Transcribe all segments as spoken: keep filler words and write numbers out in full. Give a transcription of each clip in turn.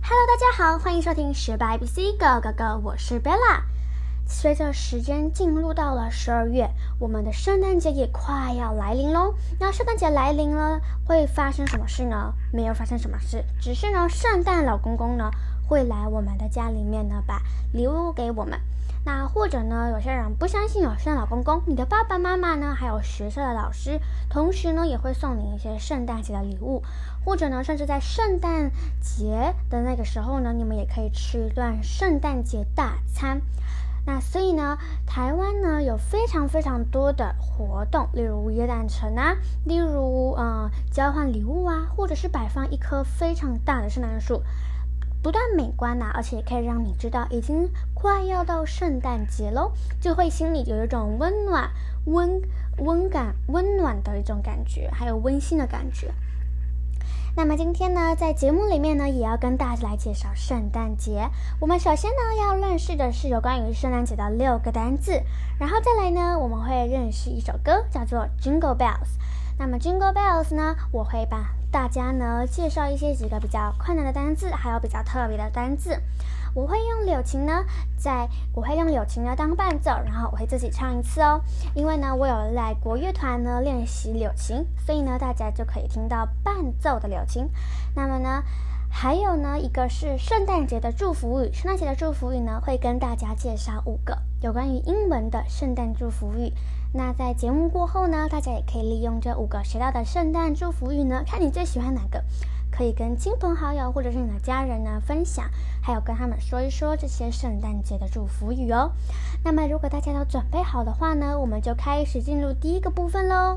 Hello， 大家好，欢迎收听学霸 A B C Go Go Go， 我是 Bella。随着时间进入到了十二月，我们的圣诞节也快要来临咯。那圣诞节来临了，会发生什么事呢？没有发生什么事，只是呢，圣诞老公公呢会来我们的家里面呢，把礼物给我们。那或者呢，有些人不相信有圣诞老公公，你的爸爸妈妈呢，还有学校的老师，同时呢也会送你一些圣诞节的礼物，或者呢，甚至在圣诞节的那个时候呢，你们也可以吃一顿圣诞节大餐。那所以呢，台湾呢有非常非常多的活动，例如耶诞城啊，例如呃交换礼物啊，或者是摆放一棵非常大的圣诞树。不但美观啊，而且也可以让你知道已经快要到圣诞节咯，就会心里有一种温暖、温温感、温暖的一种感觉，还有温馨的感觉。那么今天呢，在节目里面呢，也要跟大家来介绍圣诞节。我们首先呢，要认识的是有关于圣诞节的六个单字，然后再来呢，我们会认识一首歌，叫做 Jingle Bells。那么 Jingle Bells 呢，我会把大家呢介绍一些几个比较困难的单字，还有比较特别的单字。我会用柳琴呢，在我会用柳琴呢当伴奏，然后我会自己唱一次哦。因为呢，我有来国乐团呢练习柳琴，所以呢，大家就可以听到伴奏的柳琴。那么呢，还有呢，一个是圣诞节的祝福语。圣诞节的祝福语呢，会跟大家介绍五个有关于英文的圣诞祝福语。那在节目过后呢，大家也可以利用这五个学到的圣诞祝福语呢，看你最喜欢哪个，可以跟亲朋好友或者是你的家人呢分享，还有跟他们说一说这些圣诞节的祝福语哦。那么如果大家都准备好的话呢，我们就开始进入第一个部分咯。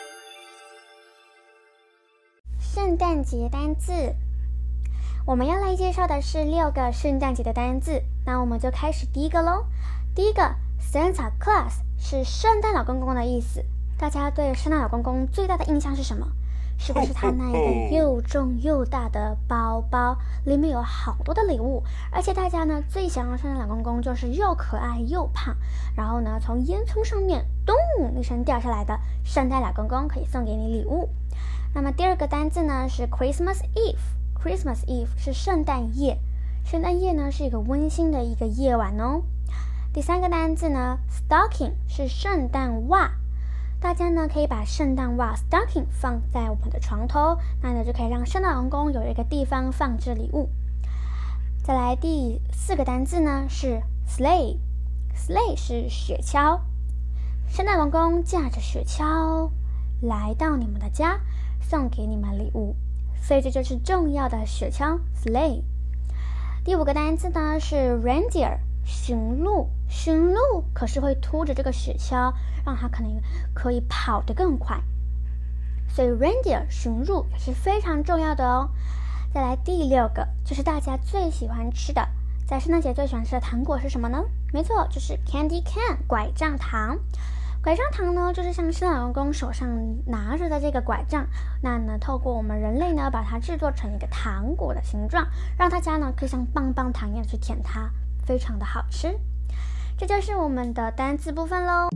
圣诞节单字，我们要来介绍的是六个圣诞节的单字，那我们就开始第一个咯。第一个 Santa Claus 是圣诞老公公的意思。大家对圣诞老公公最大的印象是什么？是不是他那一个又重又大的包包，里面有好多的礼物，而且大家呢最想要圣诞老公公就是又可爱又胖，然后呢从烟囱上面咚一声掉下来的圣诞老公公可以送给你礼物。那么第二个单字呢是 Christmas Eve。 Christmas Eve 是圣诞夜，圣诞夜呢是一个温馨的一个夜晚哦。第三个单字呢 Stocking 是圣诞袜，大家呢可以把圣诞袜 stocking 放在我们的床头，那呢就可以让圣诞老公公有一个地方放置礼物。再来第四个单字呢是 sleigh。 sleigh 是雪橇，圣诞老公公驾着雪橇来到你们的家，送给你们礼物，所以这就是重要的雪橇 sleigh。 第五个单字呢是 reindeer， 驯鹿。驯鹿可是会拖着这个雪橇，让它可能可以跑得更快，所以 reindeer 驯鹿也是非常重要的哦。再来第六个，就是大家最喜欢吃的，在圣诞节最喜欢吃的糖果是什么呢？没错，就是 candy can 拐杖糖。拐杖糖呢，就是像圣诞老公公手上拿着的这个拐杖，那呢，透过我们人类呢，把它制作成一个糖果的形状，让大家呢可以像棒棒糖一样去舔它，非常的好吃。这就是我们的单字部分咯。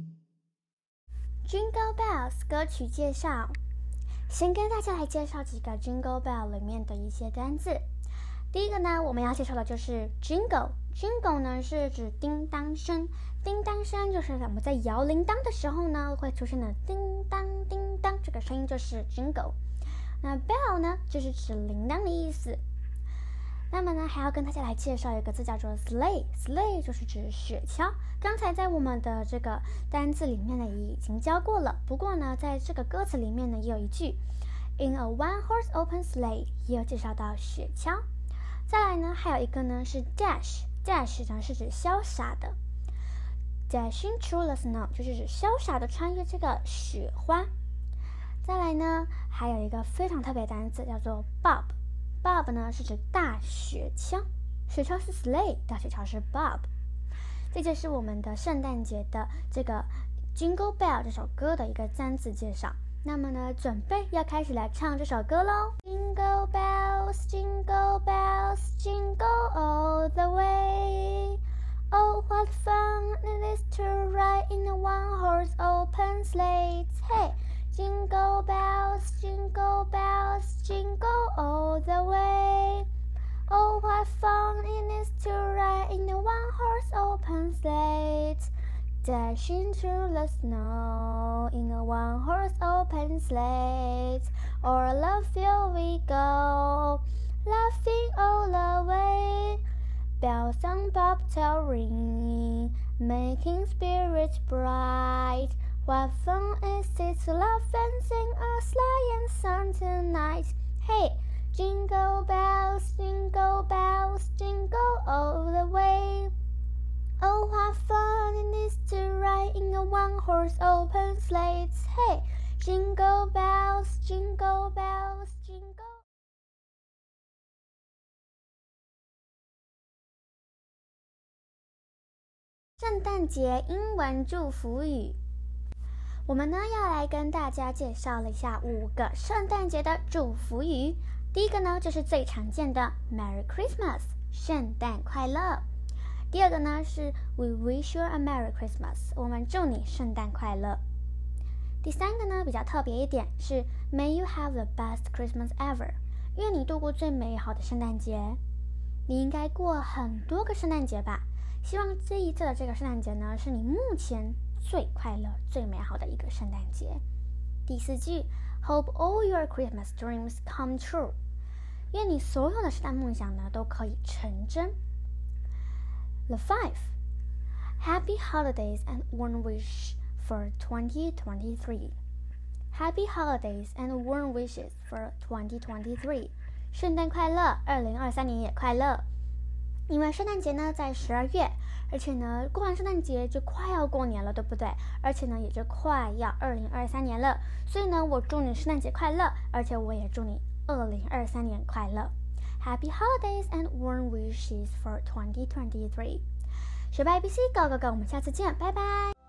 Jingle Bells 歌曲介绍，先跟大家来介绍几个 Jingle Bell 里面的一些单字。第一个呢，我们要介绍的就是 Jingle。 Jingle 呢是指叮当声，叮当声就是我们在摇铃铛的时候呢会出现的叮当叮当，这个声音就是 Jingle。 那 Bell 呢就是指铃铛的意思。那么呢，还要跟大家来介绍一个字叫做 sleigh。 sleigh 就是指雪橇，刚才在我们的这个单字里面呢也已经教过了，不过呢在这个歌词里面呢也有一句 In a one horse open sleigh， 也有介绍到雪橇。再来呢还有一个呢是 dash。 dash 呢是指潇洒的， dashing through the snow 就是指潇洒的穿越这个雪花。再来呢还有一个非常特别的单词叫做 bob。Bob 呢是指大雪橇，雪橇是 sleigh， 大雪橇是 Bob。 这就是我们的圣诞节的这个 Jingle Bell 这首歌的一个单词介绍。那么呢，准备要开始来唱这首歌咯。 Jingle bells, jingle bells, jingle all the way. Oh, what fun it is to ride in a one-horse open sleigh. Hey, jingle bells, jingle bells, jingle all the way. Oh, open slate, dashing through the snow in a one-horse open slate. O'er the field we go, laughing all the way. Bells on bobtail ring, making spirits bright. What fun is it to laugh and sing a sleighing song tonight? Hey, jingle bells, jingle bells, jingle all the way. Oh, what fun it is to ride in a one-horse open slate. Hey, jingle bells, jingle bells, jingle. 圣诞节英文祝福语，我们呢要来跟大家介绍了一下五个圣诞节的祝福语。第一个呢就是最常见的 Merry Christmas， 圣诞快乐。第二个呢是 We wish you a Merry Christmas， 我们祝你圣诞快乐。第三个呢比较特别一点是 May you have the best Christmas ever， 愿你度过最美好的圣诞节。你应该过很多个圣诞节吧，希望这一次的这个圣诞节呢是你目前最快乐最美好的一个圣诞节。第四句 Hope all your Christmas dreams come true， 愿你所有的圣诞梦想呢都可以成真。The five Happy holidays and warm wish for twenty twenty-three， Happy holidays and warm wishes for twenty twenty-three， 圣诞快乐，二零二三年也快乐。因为圣诞节呢在十二月，而且呢过完圣诞节就快要过年了，对不对？而且呢也就快要二零二三年了，所以呢我祝你圣诞节快乐，而且我也祝你二零二三年快乐。Happy holidays and warm wishes for twenty twenty-three。学霸 A B C， Go Go Go， 我们下次见，拜拜。